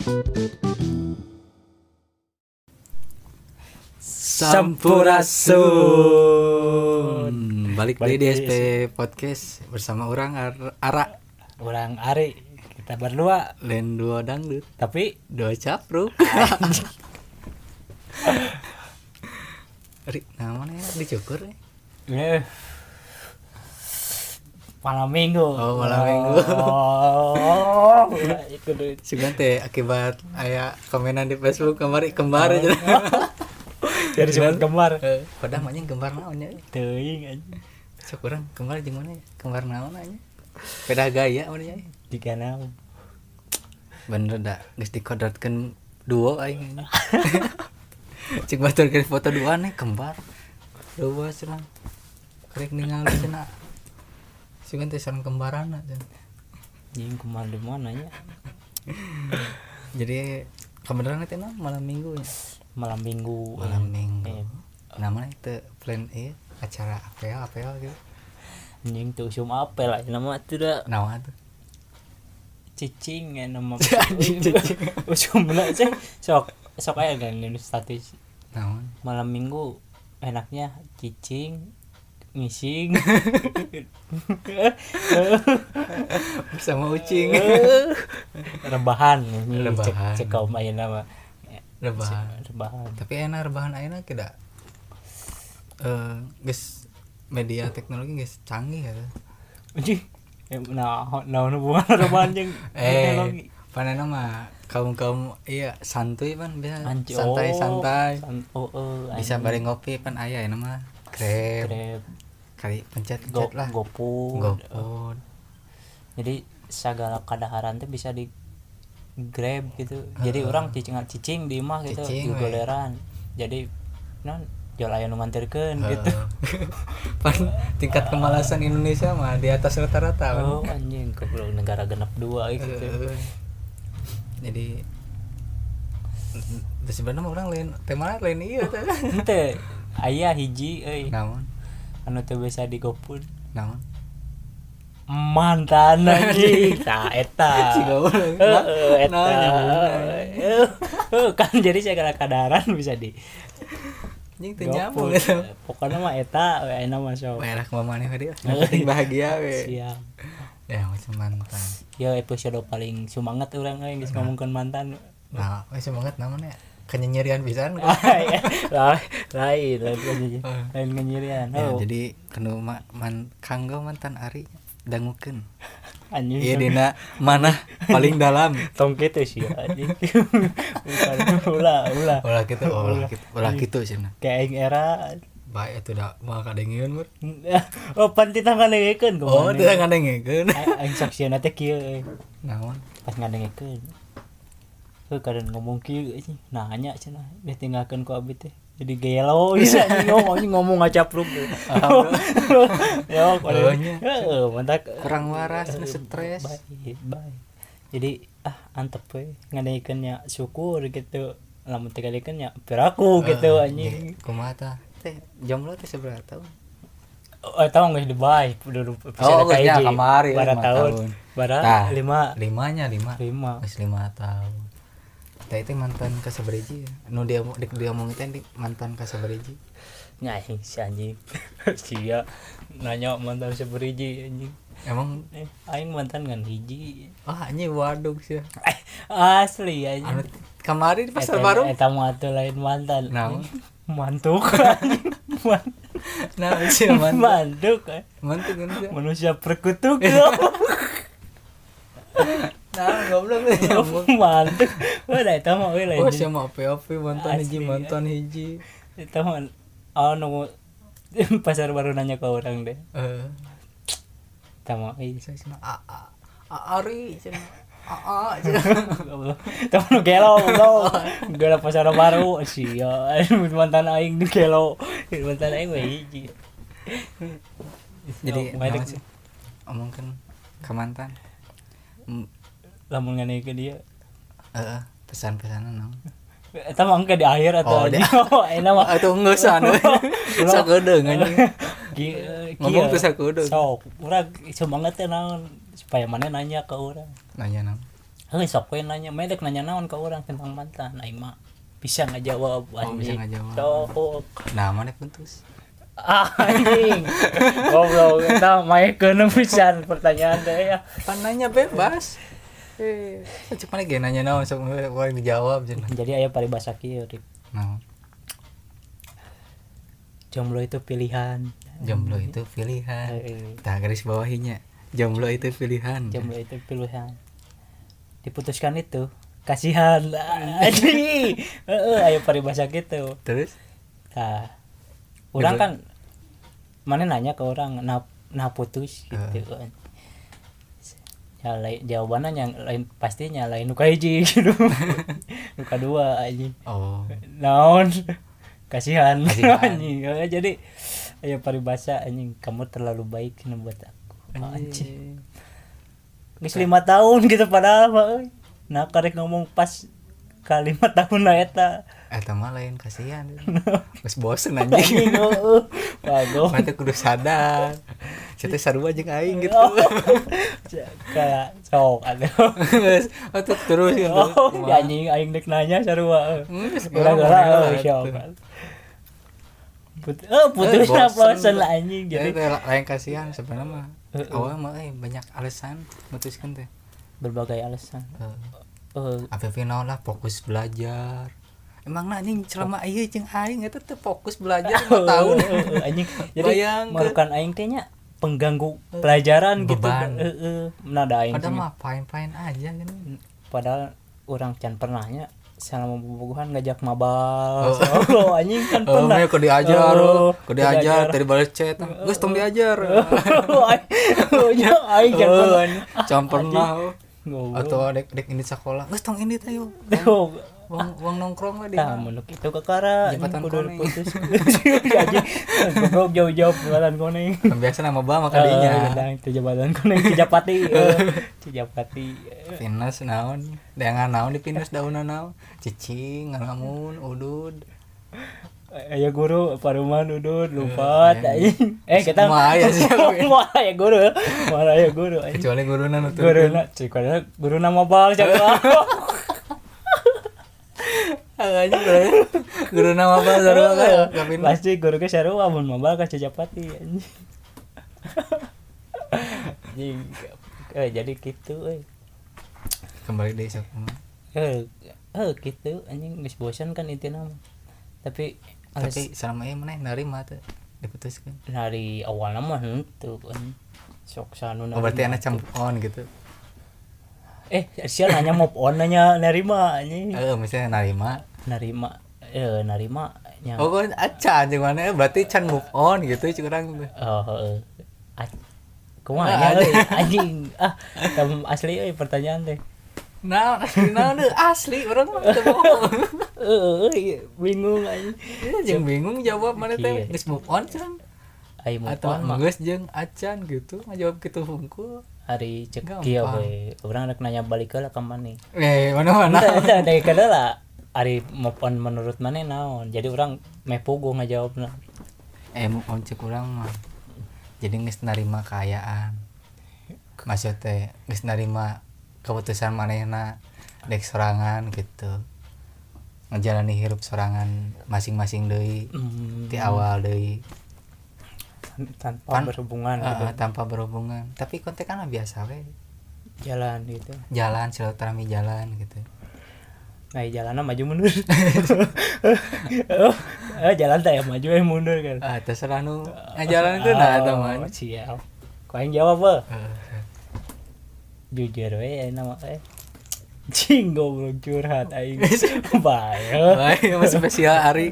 Sampurasun. Balik di DSP Podcast bersama orang Ara, orang Ari. Kita berdua lain dua dangdut, tapi dua capruk. Ari, namanya dicukur nih. Malam minggu. Oh, malam minggu. Oh, itu deh. Sugan teh akibat aya komenan di Facebook kembar aja. Jadi sebut kembar. Padahal mah kembar naon nya. Teuing aja. Sok urang kembar jeung mana? Kembar naon anya? Beda gaya mun nya. Jika naon. Bener da, geus dikodratkeun duo aing. Cik baturkeun foto dua nih kembar. Dua cenah. Karek ningali cenah. Sugan teh sareng kembaranna cenah. Jeung kembar di mana nya? Jadi kebenaran teh malam minggu ya. Malam minggu. Namanya itu plan acara apel gitu. Anjing tuh usum apel lah nama teh da. Naon tuh? Cicing ya nama. Usumna teh sok aya kan di status. Naon? Malam minggu enaknya cicing ngising Bersama ucing. rebahan cek kaum ayeuna mah rebahan. Tapi enak rebahan ayeuna tidak geus media teknologi geus canggih ya. Anjing nah hubungan rebahan jeung teknologi. Panena mah kaum iya santuy pan bisa santai bisa bareng ngopi pan aya ya mah Grab kali pencet lah GoFood. Jadi segala kadaharan teh bisa di Grab gitu. Jadi orang cicing di imah gitu di goleran. Jadi non jual aya nu nganterkeun gitu. Pan tingkat kemalasan Indonesia mah di atas rata-rata. Oh anjing goblok negara genep 2 gitu. Jadi sebenarnya orang lain tema lain iya teh. Henteu aya hiji euy. Naon? Anu teu bisa di GoFood. Naon? Mantan anjing. Tah eta. Eta. Kan jadi segala kadaharan bisa di anjing teu nyambung eta. Pokona mah eta we ayeuna mah sok. Merah mah maneh dia. Penting bahagia we. Siap. Ya macam mantan. Ya episode paling semangat urang geus ngomongkeun mantan. Nah, we semangat namanya kenyerian pisan. Lain kenyerian. Ya, jadi kanu kanggo mantan Ari dangukeun. Anjing. Ieu dina mana paling dalam. Tong kitu sih anjing. Ulah kitu cenah. Kayak aing era bae eta da moal kadengieun mur. Oh pan titah ngadengkeun kumaha. Oh, titah ngadengkeun. Aing saksieuna teh kieu. Naon? Pas ngadengkeun. Kadang ngomong kieu anjing. Nanya cenah, ditinggalkeun ku abi teh. Jadi gelo bisa ngomong ngacapruk. Ya, mantap. Kurang waras, stres. Bye. Jadi antep we ngadengkeun nya syukur gitu. Lamun teh ngadengkeun nya piraku gitu anjing. Kumaha tah? Teh jomblo teh sabaraha tahun? Oh, tahu geus dibay dulu nya kamari 5 tahun. Bara 5. 5. Geus 5 tahun. Tah itu mantan ka sabaraha? Nu dia ngomong teh mantan ka sabaraha? Nya si anjing. Sia nanya mantan sabaraha anjing. Emang aing mantan ngan hiji. Anjing waduh sia. Asli anjing. Anu kamari di pasar baru eta mah atuh lain mantan. Naon? Mantuk. Nah, sia mantuk. Mantuk kan sia. Manusia perkutuk. Nah, goblok nyambung. Mantuk. Udah eta mah we lain. Oh, sia mah ope-ope mantan hiji. Eta mah anu pasar baru nanya ke orang deh. Eta mah Ari cenah. Eta mah gelo. Gara pasar baru sia mantan aing di gelo. Mantan aing we hiji. Jadi omongkeun ka mantan. Lamun nganeukeun dia. Pesan-pesanan naon? Eta mah engke di akhir atau enak mah atuh geus anu. Sakedeung anjing. Ngomong teh sakudu. Sok, urang semangat teh naon supaya maneh nanya ke urang. Nanya naon? sok we nanya medek nanya naon ke orang tentang mantan aing mah bisa ngajawab bisa anjing ngajawab. sok Nah mana putus anjing goblok eta maekeun pisan pertanyaan teh ya pan nanya bebas cek mana ge nanya naon sok orang dijawab cenah. jadi aya paribasa kieu Rip. Nah Jomblo itu pilihan. jomblo itu pilihan. Tah garis bawahinya jomblo itu pilihan. Jomblo itu pilihan. Diputuskan itu kasihan anjing. Ayo paribasa gitu. Terus Nah, orang kan mana nanya ke orang nah putus gitu kan. Ya jawabannya yang lain pastinya lain nuka hiji gitu. Nuka dua anjing. oh Naon kasihan anjing. Jadi ayo paribasa anjing kamu terlalu baik buat aku. Anjing. Geus 5 tahun gitu padahal mah euy. Nah karek ngomong pas ka 5 tahun lah eta. eta mah lain kasihan. Geus bosen anjing. Bagus. Mata kudu sadar. Cetek sarua jeung aing gitu. Kayak sok ada. Atuh terus gitu. Anjing aing dek nanya sarua. Gara-gara sok. Putus bosen lah anjing jadi lain kasihan sebenarnya mah. Awal mah banyak alasan mutuskan teh. Berbagai alasan. Apa final lah fokus belajar. Emang anjing selama ieu jeung aing eta teh fokus belajar 5 tahun. Anjing. Jadi merukan aing teh nya pengganggu pelajaran gitu. Nah da aing. Padahal mah fine-fine aja kan. Padahal orang can pernahnya selama bobogohan ngajak mabal. Oh anjing kan pernah. Kok diajar tadi balas chat. Geus tong diajar. Aing can pernah. Atau dek ini sekolah. Geus tong ini teh yuk. Wong nongkrong lah dia. Tah menuk itu kakara jembatan kudu putus. Anjing. Goblok jauh-jauh jembatan koneng. Biasa nama ba maka dinya. Itu jembatan koneng Cijapati. Cijapati. Pinus naon? Dengan naon di pinus daunna naon? Cicing, ngalamun, udud. Aya guru paruman udud lupat anjing. Kita mah aya sih. Mah aya guru. Mah aya guru anjing. Kecuali guruna nu teu. Guruna mabal jaga. Anjing guru nama apa sarua ka pasti guru ge sarua mun mabal ka Cijapati anjing. Anjing. Jadi kitu euy. Kembali deui sok. Kitu anjing geus bosan kan intina mah. Tapi selama ieu maneh narima teh diputuskeun. Dari awalna mah henteu kan. Sok sanuna. Berarti ana camp on gitu. Sia nanya move on nanya nerima anjing. Misalnya Narima nya. Oh, kan acan jeung mana berarti can move on gitu curang teh. Kumaha nya anjing. Kamu asli euy pertanyaan teh. Nah, asli urang mah teu bohong. Bingung anjing. Jeung bingung jawab mana teh geus move on curang. Ai move on mah. Geus jeung acan gitu ngajawab kitu hungkul. Hari cek kieu we. Urang rek nanya balik heula ka maneh. Mana-mana. Dari kada lah. Ari move on menurut maneh naon? Jadi urang meh puguh ngajawabna. Move on cek urang mah. Jadi geus narima kaayaan. Maksud teh geus narima keputusan manehna dek sorangan gitu. Ngejalani hirup sorangan masing-masing deui. Ti awal deui. Tanpa berhubungan gitu. Tanpa berhubungan. Tapi kontekan biasa we. Jalan gitu. Jalan silaturahmi jalan gitu. Nah, jalanna maju mundur. Jalan teh maju mundur kan. Terserah nu ngajalan itu nah eta mah. Siap. Kau yang jawab apa? Jujur we nama cing goblok curhat aing. Bae masih spesial Ari.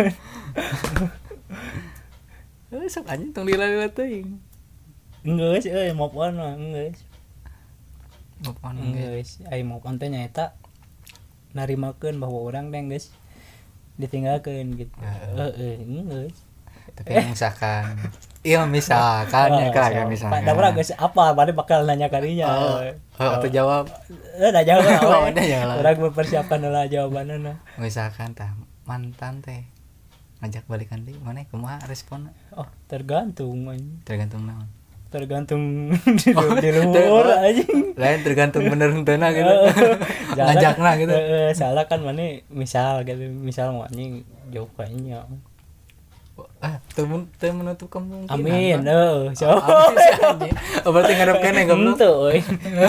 Sok anjing tong dilala teuing. Geus move on mah geus. Move on geus. Ai move on teh nyaeta narimakeun bahwa urang teh geus ditinggalkeun gitu. Geus. Tapi misalkan misalkan ya kan misalkan. Da urang geus apa bade bakal nanya kadinya. Atau jawab. Da jawab. Urang mempersiapkan heula jawabanna. Misalkan tah mantan teh ngajak balikan deui maneh kumaha responna? Tergantung naon? tergantung di luhur anjing. Lain tergantung bener henteu gitu. Ngajakna gitu. Salah kan mana misal gitu, misal mau anjing jauh kayaknya. Teu menutup kemungkinan. Amin. So. Berarti ngarep kene goblok. Henteu euy.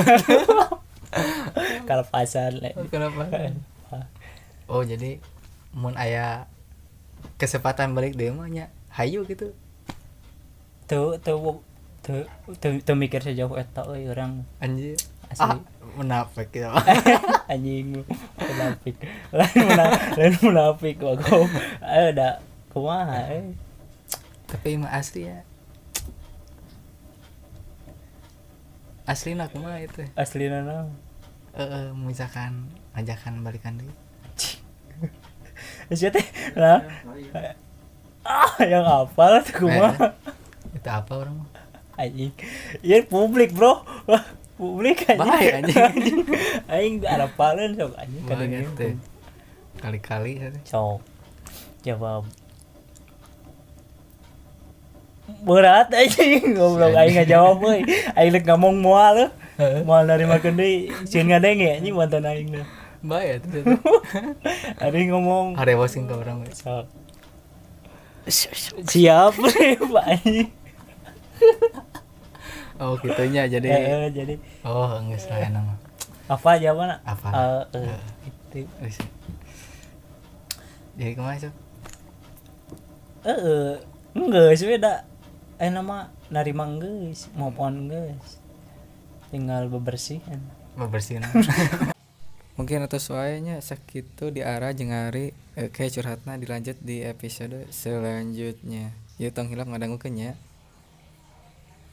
Kalepasan le. Kenapa? Oh, jadi mun aya kesempatan balik deui mah nya hayu gitu. Tuh mikir sejauh eta euy urang Anjir. asli. Munafik gitu. Anjing munafik. Lain munafik kok. Ayo da kumaha Tapi mah asli ya. Asli nak kumaha itu. aslina naon? Misalkan ajakan balikan deui. Sia teh nah. Yang hafal tuh kumaha? Itu apa orang mah? Anjing. Ieu publik, Bro. Wah, publik anjing. Bahaya anjing. Aing harapalan sok anjing kadang Teh. Kali-kali teh. sok. Jawab. Berat anjing, goblok aing ngajawab euy. Aing rek ngomong moal. Moal dari makan deui, sieun ngadenge anjing mantan aing na. Bahaya tuh. Ada yang ngomong Harewasin ke orang we. sok. Siap Pak anjing. Oh, gitunya jadi. Jadi Oh, geus lain nama. apa jawabanna? Apa? Itu. Jadi kumaha Cok? Geus we da nama narima geus, maupun geus. Tinggal bebersihan. Bebersihin. Mungkin atas wae-nya sakitu di arah jeung ari kayak curhatna dilanjut di episode selanjutnya. Ieu tong hilap ngadangukeun nya.